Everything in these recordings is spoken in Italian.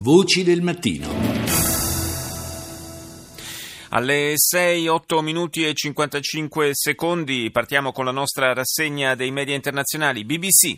Voci del mattino. Alle 6, 8 minuti e 55 secondi partiamo con la nostra rassegna dei media internazionali. BBC.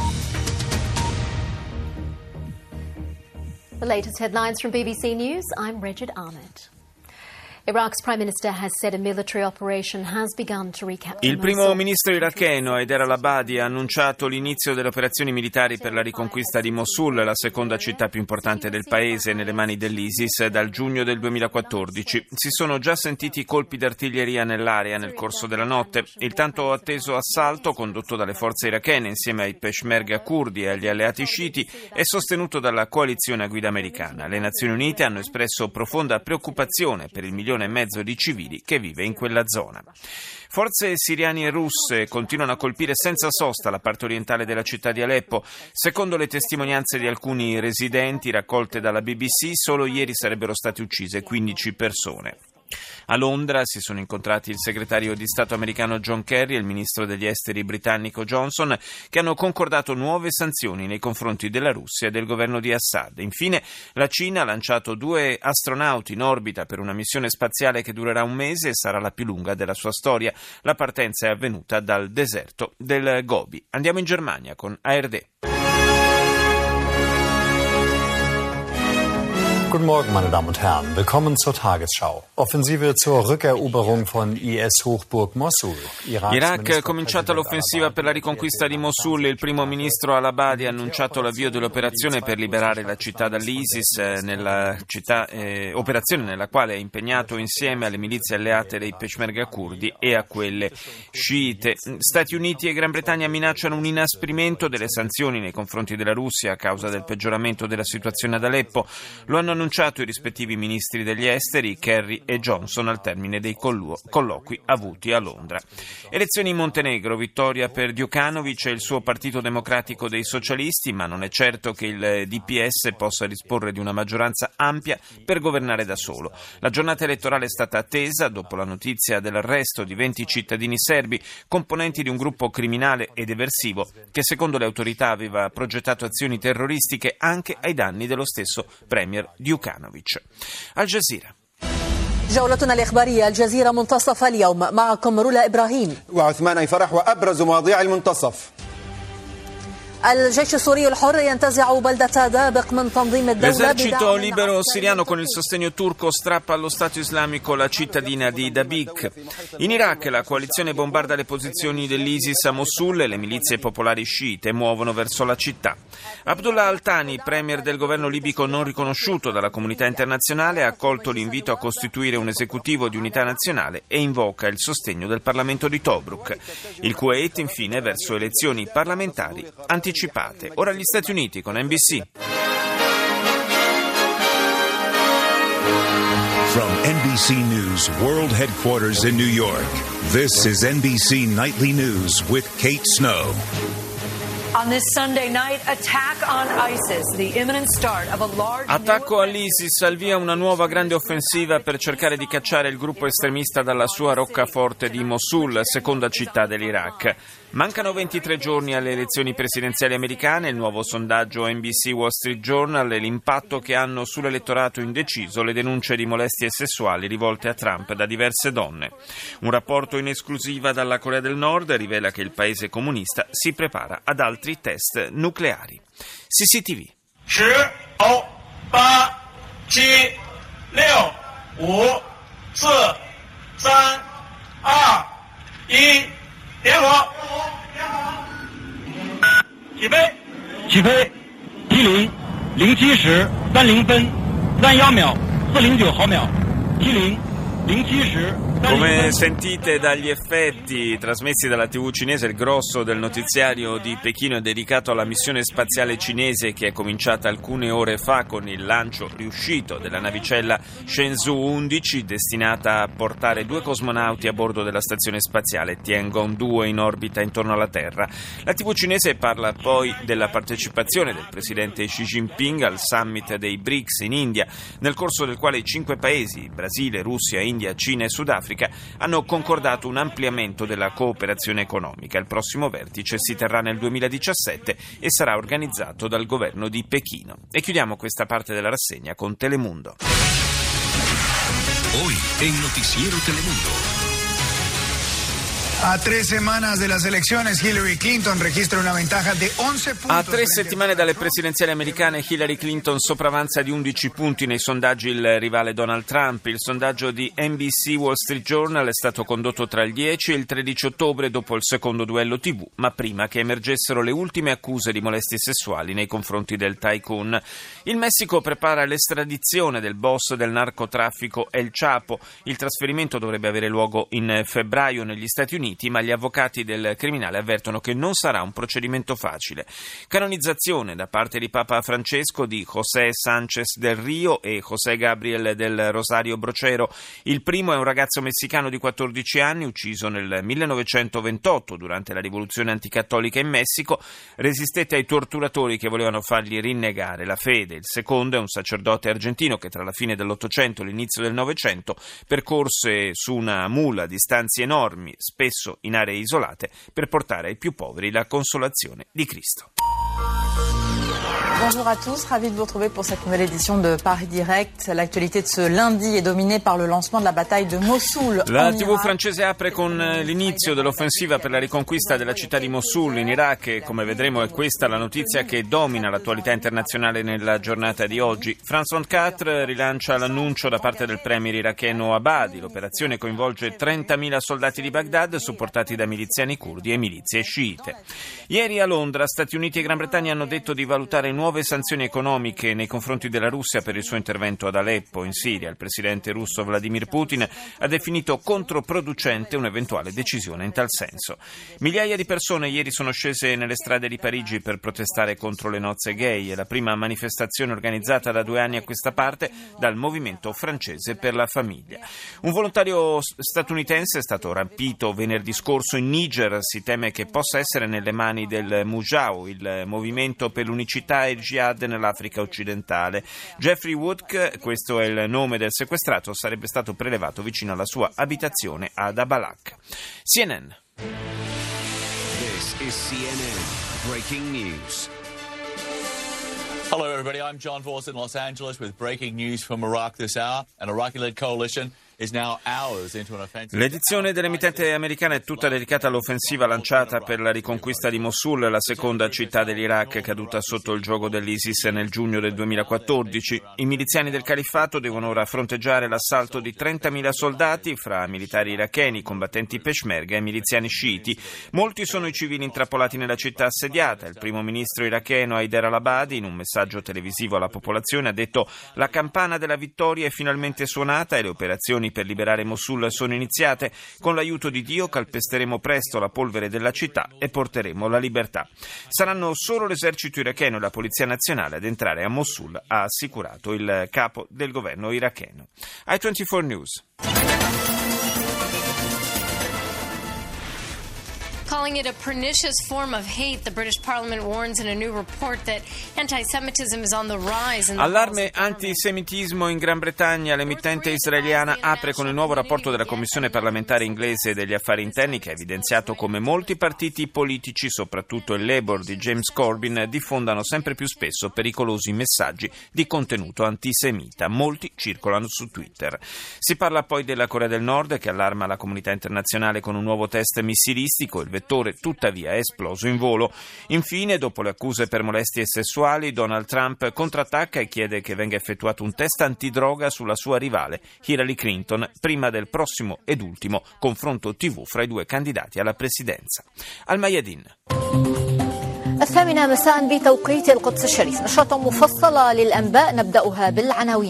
The latest headlines from BBC News. I'm Regid Ahmed. Iraq's prime minister has said a military operation has begun to recapture Il primo ministro iracheno Haider al-Abadi ha annunciato l'inizio delle operazioni militari per la riconquista di Mosul, la seconda città più importante del paese nelle mani dell'ISIS dal giugno del 2014. Si sono già sentiti colpi d'artiglieria nell'area nel corso della notte. Il tanto atteso assalto, condotto dalle forze irachene insieme ai peshmerga curdi e agli alleati sciiti, è sostenuto dalla coalizione a guida americana. Le Nazioni Unite hanno espresso profonda preoccupazione per il 1,5 milioni di civili che vive in quella zona. Forze siriane e russe continuano a colpire senza sosta la parte orientale della città di Aleppo. Secondo le testimonianze di alcuni residenti raccolte dalla BBC, solo ieri sarebbero state uccise 15 persone. A Londra si sono incontrati il segretario di Stato americano John Kerry e il ministro degli esteri britannico Johnson, che hanno concordato nuove sanzioni nei confronti della Russia e del governo di Assad. Infine, la Cina ha lanciato 2 astronauti in orbita per una missione spaziale che durerà un mese e sarà la più lunga della sua storia. La partenza è avvenuta dal deserto del Gobi. Andiamo in Germania con ARD. Guten Morgen, meine Damen und Herren. Willkommen zur Tagesschau. Offensive zur Rückeroberung von IS-Hochburg Mosul. Iraq è cominciata l'offensiva per la riconquista di Mosul. Il primo ministro al-Abadi ha annunciato l'avvio dell'operazione per liberare la città dall'ISIS, operazione nella quale è impegnato insieme alle milizie alleate dei peshmerga curdi e a quelle sciite. Stati Uniti e Gran Bretagna minacciano un inasprimento delle sanzioni nei confronti della Russia a causa del peggioramento della situazione ad Aleppo. Lo hanno annunciato i rispettivi ministri degli esteri Kerry e Johnson al termine dei colloqui avuti a Londra. Elezioni in Montenegro, vittoria per Djukanovic e il suo Partito Democratico dei Socialisti, ma non è certo che il DPS possa disporre di una maggioranza ampia per governare da solo. La giornata elettorale è stata attesa dopo la notizia dell'arresto di 20 cittadini serbi, componenti di un gruppo criminale ed eversivo che secondo le autorità aveva progettato azioni terroristiche anche ai danni dello stesso premier ديوكانوفيتش. الجزيرة. جولتنا الإخبارية الجزيرة منتصف اليوم معكم رولا إبراهيم وعثمان أي فرح وأبرز مواضيع المنتصف. L'esercito libero siriano con il sostegno turco strappa allo Stato islamico la cittadina di Dabq. In Iraq la coalizione bombarda le posizioni dell'ISIS a Mosul e le milizie popolari sciite muovono verso la città. Abdullah Al-Thani, premier del governo libico non riconosciuto dalla comunità internazionale, ha accolto l'invito a costituire un esecutivo di unità nazionale e invoca il sostegno del Parlamento di Tobruk. Il Kuwait infine verso elezioni parlamentari anticipate. Ora gli Stati Uniti con NBC. From NBC News World Headquarters in New York, this is NBC Nightly News with Kate Snow. On this Sunday night, attack on ISIS, the imminent start of a large... Attacco all'ISIS, al via una nuova grande offensiva per cercare di cacciare il gruppo estremista dalla sua roccaforte di Mosul, seconda città dell'Iraq. Mancano 23 giorni alle elezioni presidenziali americane, il nuovo sondaggio NBC Wall Street Journal e l'impatto che hanno sull'elettorato indeciso le denunce di molestie sessuali rivolte a Trump da diverse donne. Un rapporto in esclusiva dalla Corea del Nord rivela che il paese comunista si prepara ad altri test nucleari. CCTV. 10, 9, 8, 7, 6, 5, 4, 3, 2, 1, 点火！起飞！10 07时30分31秒409毫秒10 07时。 Come sentite dagli effetti trasmessi dalla TV cinese, il grosso del notiziario di Pechino è dedicato alla missione spaziale cinese che è cominciata alcune ore fa con il lancio riuscito della navicella Shenzhou 11 destinata a portare 2 cosmonauti a bordo della stazione spaziale Tiangong 2 in orbita intorno alla Terra. La TV cinese parla poi della partecipazione del presidente Xi Jinping al summit dei BRICS in India, nel corso del quale i 5 paesi, Brasile, Russia, India, Cina e Sudafrica, Africa hanno concordato un ampliamento della cooperazione economica. Il prossimo vertice si terrà nel 2017 e sarà organizzato dal governo di Pechino. E chiudiamo questa parte della rassegna con Telemundo. Hoy en Noticiero Telemundo. A 3 semanas de las elecciones, Hillary Clinton registra una ventaja de 11 puntos. A 3 settimane dalle presidenziali americane, Hillary Clinton sopravanza di 11 punti nei sondaggi il rivale Donald Trump. Il sondaggio di NBC Wall Street Journal è stato condotto tra il 10 e il 13 ottobre dopo il secondo duello TV, ma prima che emergessero le ultime accuse di molestie sessuali nei confronti del tycoon. Il Messico prepara l'estradizione del boss del narcotraffico El Chapo. Il trasferimento dovrebbe avere luogo in febbraio negli Stati Uniti, ma gli avvocati del criminale avvertono che non sarà un procedimento facile. Canonizzazione da parte di Papa Francesco di José Sánchez del Rio e José Gabriel del Rosario Brochero. Il primo è un ragazzo messicano di 14 anni ucciso nel 1928 durante la rivoluzione anticattolica in Messico. Resistette ai torturatori che volevano fargli rinnegare la fede. Il secondo è un sacerdote argentino che tra la fine dell'Ottocento e l'inizio del Novecento percorse su una mula distanze enormi, spesso in aree isolate, per portare ai più poveri la consolazione di Cristo. Bonjour à tous, ravi de vous retrouver pour cette nouvelle édition de Paris Direct. L'actualité de ce lundi est dominée par le lancement de la bataille de Mossoul. La TV francese apre con l'inizio dell'offensiva per la riconquista della città di Mosul in Iraq e, come vedremo, è questa la notizia che domina l'attualità internazionale nella giornata di oggi. France 24 rilancia l'annuncio da parte del premier iracheno Abadi. L'operazione coinvolge 30.000 soldati di Baghdad supportati da miliziani curdi e milizie sciite. Ieri a Londra Stati Uniti e Gran Bretagna hanno detto di valutare nuove sanzioni economiche nei confronti della Russia per il suo intervento ad Aleppo, in Siria. Il presidente russo Vladimir Putin ha definito controproducente un'eventuale decisione in tal senso. Migliaia di persone ieri sono scese nelle strade di Parigi per protestare contro le nozze gay. È la prima manifestazione organizzata da 2 anni a questa parte dal movimento francese per la famiglia. Un volontario statunitense è stato rapito venerdì scorso in Niger. Si teme che possa essere nelle mani del Mujau, il movimento per l'unicità e il jihad nell'Africa occidentale. Jeffrey Woodke, questo è il nome del sequestrato, sarebbe stato prelevato vicino alla sua abitazione ad Abalak. CNN. This is CNN Breaking News. Hello everybody, I'm John Voss in Los Angeles with breaking news from Iraq this hour. An Iraqi-led coalition is now hours into an offensive. L'edizione dell'emittente americana è tutta dedicata all'offensiva lanciata per la riconquista di Mosul, la seconda città dell'Iraq caduta sotto il giogo dell'ISIS nel giugno del 2014. I miliziani del califfato devono ora fronteggiare l'assalto di 30.000 soldati fra militari iracheni, combattenti peshmerga e miliziani sciiti. Molti sono i civili intrappolati nella città assediata. Il primo ministro iracheno Haider al-Abadi, in un messaggio televisivo alla popolazione, ha detto: la campana della vittoria è finalmente suonata e le operazioni per liberare Mosul sono iniziate. Con l'aiuto di Dio calpesteremo presto la polvere della città e porteremo la libertà. Saranno solo l'esercito iracheno e la polizia nazionale ad entrare a Mosul, ha assicurato il capo del governo iracheno. I24 News. Calling it a pernicious form of hate, the British Parliament warns in a new report that anti-Semitism is on the rise. Allarme antisemitismo in Gran Bretagna. L'emittente israeliana apre con il nuovo rapporto della Commissione parlamentare inglese degli affari interni, che ha evidenziato come molti partiti politici, soprattutto il Labour di James Corbyn, diffondano sempre più spesso pericolosi messaggi di contenuto antisemita. Molti circolano su Twitter. Si parla poi della Corea del Nord, che allarma la comunità internazionale con un nuovo test missilistico. Il vettore tuttavia è esploso in volo. Infine, dopo le accuse per molestie sessuali, Donald Trump contrattacca e chiede che venga effettuato un test antidroga sulla sua rivale Hillary Clinton prima del prossimo ed ultimo confronto TV fra i due candidati alla presidenza. Al Mayadin. 8 مساء بتوقيت القدس الشريف نشرة مفصلة للأنباء نبدأها بالعناوين.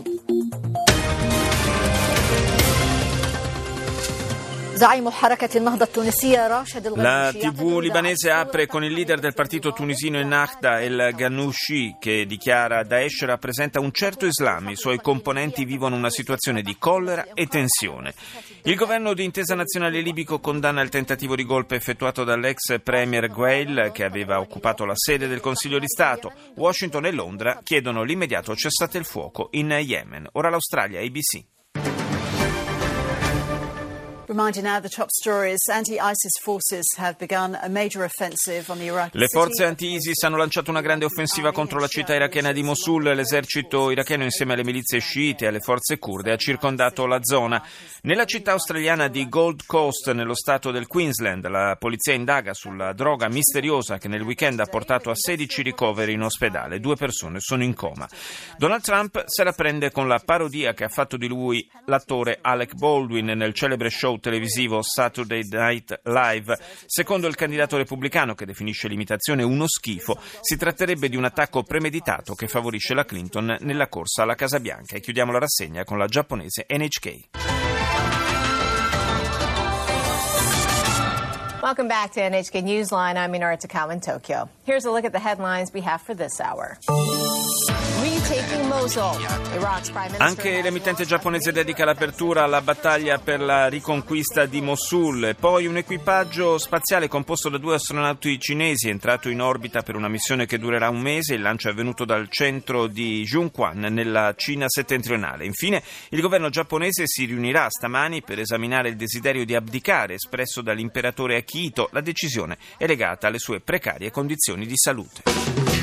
La TV libanese apre con il leader del partito tunisino Ennahda, El Ghannouchi, che dichiara: Daesh rappresenta un certo Islam, i suoi componenti vivono una situazione di collera e tensione. Il governo di intesa nazionale libico condanna il tentativo di golpe effettuato dall'ex premier Gueil, che aveva occupato la sede del Consiglio di Stato. Washington e Londra chiedono l'immediato cessate il fuoco in Yemen. Ora l'Australia, ABC. Reminding now the top stories, anti-ISIS forces have begun a major offensive on the Iraqi Le forze anti-ISIS hanno lanciato una grande offensiva contro la città irachena di Mosul. L'esercito iracheno insieme alle milizie sciite e alle forze curde ha circondato la zona. Nella città australiana di Gold Coast, nello stato del Queensland, la polizia indaga sulla droga misteriosa che nel weekend ha portato a 16 ricoveri in ospedale. 2 persone sono in coma. Donald Trump se la prende con la parodia che ha fatto di lui l'attore Alec Baldwin nel celebre show televisivo Saturday Night Live. Secondo il candidato repubblicano, che definisce l'imitazione uno schifo, si tratterebbe di un attacco premeditato che favorisce la Clinton nella corsa alla Casa Bianca. E chiudiamo la rassegna con la giapponese NHK. Welcome back to NHK Newsline. I'm Minara Takao in Tokyo. Here's a look at the headlines we have for this hour. Retaking Mosul. Iraq's prime minister. Anche l'emittente giapponese dedica l'apertura alla battaglia per la riconquista di Mosul. Poi un equipaggio spaziale composto da 2 astronauti cinesi è entrato in orbita per una missione che durerà un mese. Il lancio è avvenuto dal centro di Zhongquan nella Cina settentrionale. Infine, il governo giapponese si riunirà stamani per esaminare il desiderio di abdicare espresso dall'imperatore Akihito. La decisione è legata alle sue precarie condizioni di salute.